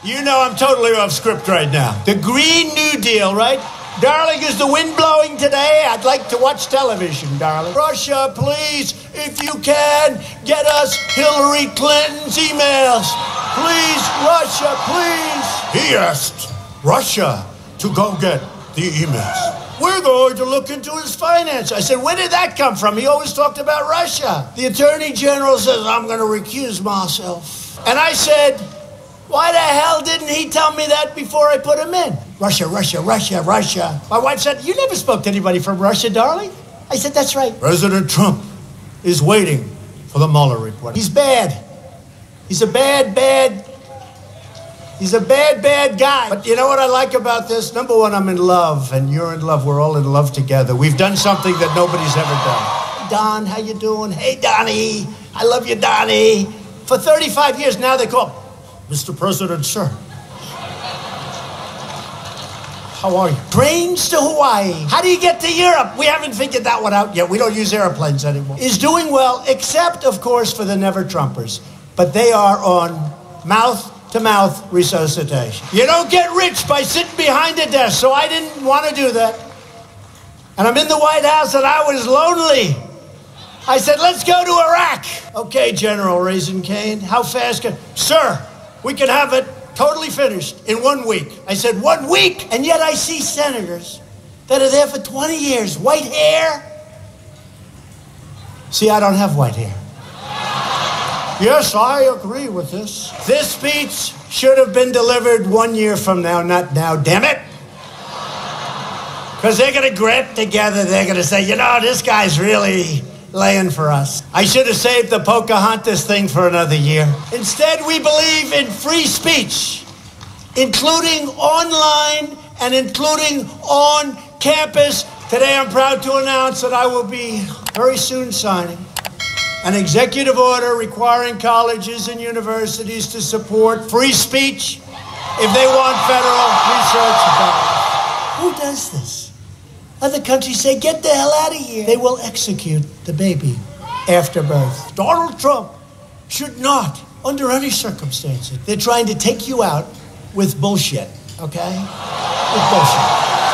You know I'm totally off script right now. The Green New Deal, right? Darling, is the wind blowing today? I'd like to watch television, darling. Russia, please, if you can, get us Hillary Clinton's emails. Please, Russia, please. He asked Russia to go get the emails. We're going to look into his finance. I said, where did that come from? He always talked about Russia. The Attorney General says, I'm going to recuse myself. And I said, why the hell didn't he tell me that before I put him in? Russia, Russia, Russia, Russia. My wife said, you never spoke to anybody from Russia, darling. I said, that's right. President Trump is waiting for the Mueller report. He's bad. He's a bad guy. But you know what I like about this? Number one, I'm in love, and you're in love. We're all in love together. We've done something that nobody's ever done. Don, how you doing? Hey, Donnie. I love you, Donnie. For 35 years now, they call Mr. President, sir. How are you? Trains to Hawaii. How do you get to Europe? We haven't figured that one out yet. We don't use airplanes anymore. Is doing well, except, of course, for the Never-Trumpers. But they are on mouth-to-mouth resuscitation. You don't get rich by sitting behind a desk, so I didn't want to do that. And I'm in the White House, and I was lonely. I said, let's go to Iraq. Okay, General Raisin Cane, how fast can... Sir, we can have it totally finished in 1 week. I said, 1 week? And yet I see senators that are there for 20 years. White hair. See, I don't have white hair. Yes, I agree with this. This speech should have been delivered 1 year from now, not now, damn it. Because they're going to get together, they're going to say, you know, this guy's really laying for us. I should have saved the Pocahontas thing for another year. Instead, we believe in free speech, including online and including on campus. Today, I'm proud to announce that I will be very soon signing an executive order requiring colleges and universities to support free speech if they want federal research dollars. Who does this? Other countries say, get the hell out of here. They will execute the baby after birth. Donald Trump should not, under any circumstances, they're trying to take you out with bullshit, okay? With bullshit.